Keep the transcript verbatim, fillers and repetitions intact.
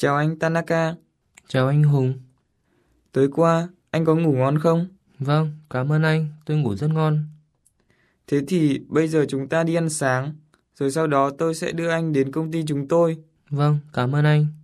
Chào anh Tanaka. Chào anh Hùng. Tối qua, anh có ngủ ngon không? Vâng, cảm ơn anh, tôi ngủ rất ngon. Thế thì bây giờ chúng ta đi ăn sáng, rồi sau đó tôi sẽ đưa anh đến công ty chúng tôi. Vâng, cảm ơn anh.